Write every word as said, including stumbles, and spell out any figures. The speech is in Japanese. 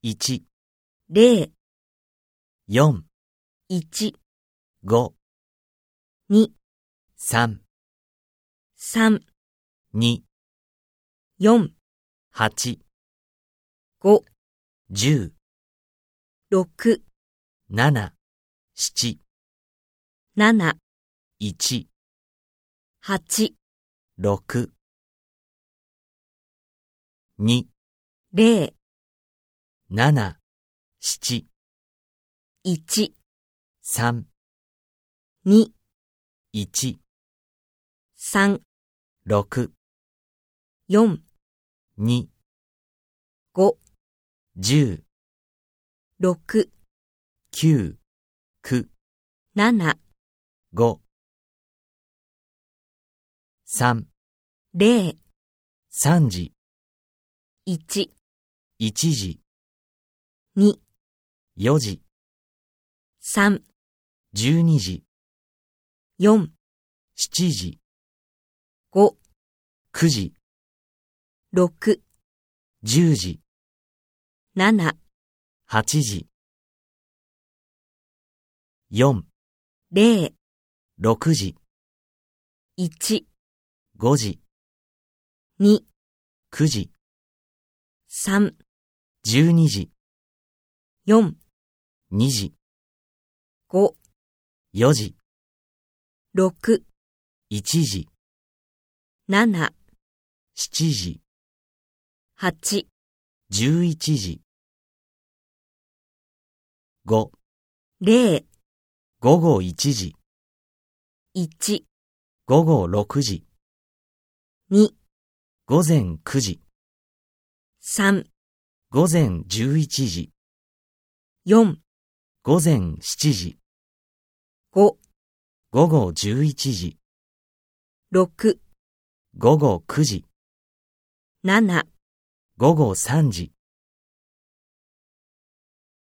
いち、 れい、 よん、 いち、 ご、 に、 さん、 さん、 に、 よん、 はち、 ご、 じゅう、 ろく、 なな、なな、 なな、 いち、 はち、 ろく、に、 れい、 なな、なな、 いち、 さん、 に、 いち、 さん、 ろく、 よん、 に、 ご、 じゅう、 ろく、 きゅう、きゅう、 なな、 ご、さん、 れい、 さんじ、 いち、 いちじ、 に、 よじ、 さん、 じゅうにじ、 よん、 しちじ、 ご、 くじ、 ろく、 じゅうじ、 なな、 はちじ、よん、 れい、 ろくじ、 いち、 ごじ、 に、 くじ、 さん、 じゅうにじ、 よん、 にじ、 ご、 よじ、 ろく、 いちじ、 なな、 しちじ、 はち、 じゅういちじ、ご、 れい、 ごごいちじ、 いち、 ごごろくじ、 に、 ごぜんくじ、 さん、 ごぜんじゅういちじ、 よん、 ごぜんしちじ、 ご、 ごごじゅういちじ、 ろく、 ごごくじ、 なな、 ごごさんじ。